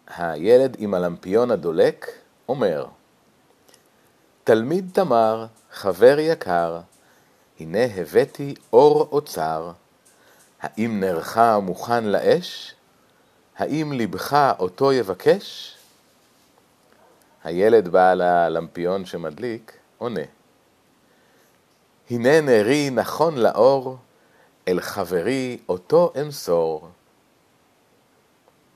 הילד עם הלמפיון הדולק אומר, תלמיד תמר, חבר יקר, הנה הבאתי אור אוצר. האם נרך מוכן לאש? האם לבך אותו יבקש? הילד בעל הלמפיון שמדליק עונה, הנה נרי נכון לאור, אל חברי אותו אמסור.